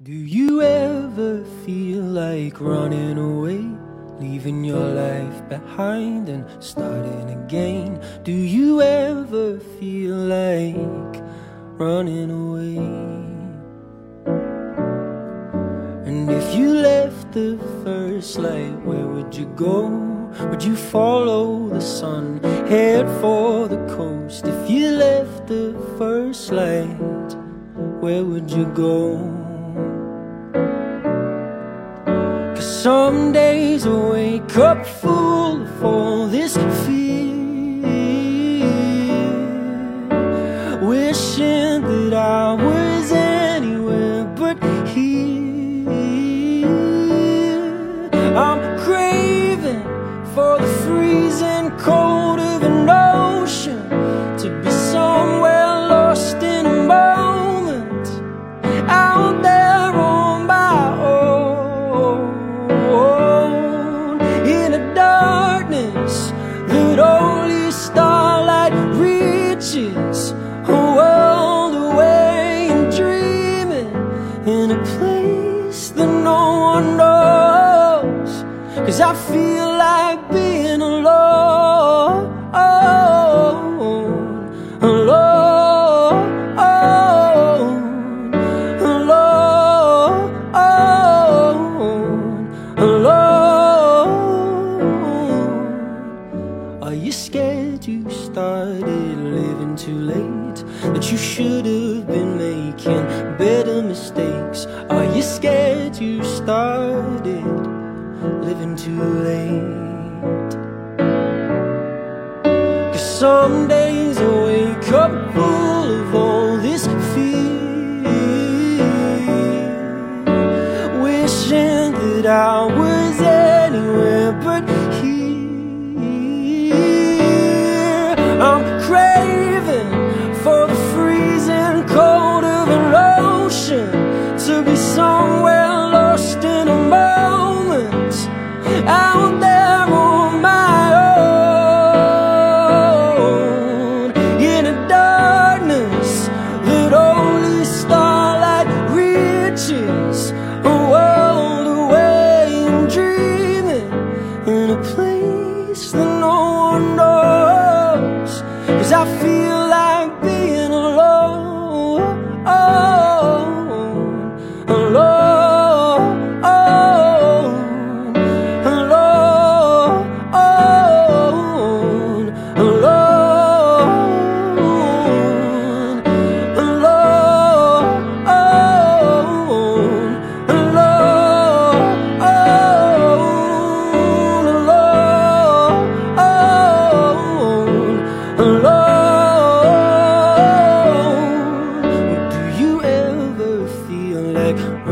Do you ever feel like running away, leaving your life behind and starting again? Do you ever feel like running away? And if you left the first light, where would you go? Would you follow the sun, head for the coast? If you left the first light, where would you go? Some days I wake up full of all this fear, wishing that I was anywhere but here. I'm craving for the freezing cold of an ocean, to be somewhere lost in a moment, out there on my own, in a darkness that only starlight reaches, a world away and dreaming, in a place that no one knows. 'Cause I feel like being alone, alone, alone, alone. Are you scared you started living too late, that you should have been making better mistakes? Are you scared you started living too late? 'Cause some days I wake up full of all this fear, wishing that I was anywhere but here. I'm craving for the freezing cold of an ocean, to be somewhere lost in a moment, out there on my own, in a darkness that only starlight reaches, a world away and dreaming, in a place that no one knows. 'Cause I feel like being alone, alone, alone, alone, alone, alone, alone. Do you ever feel like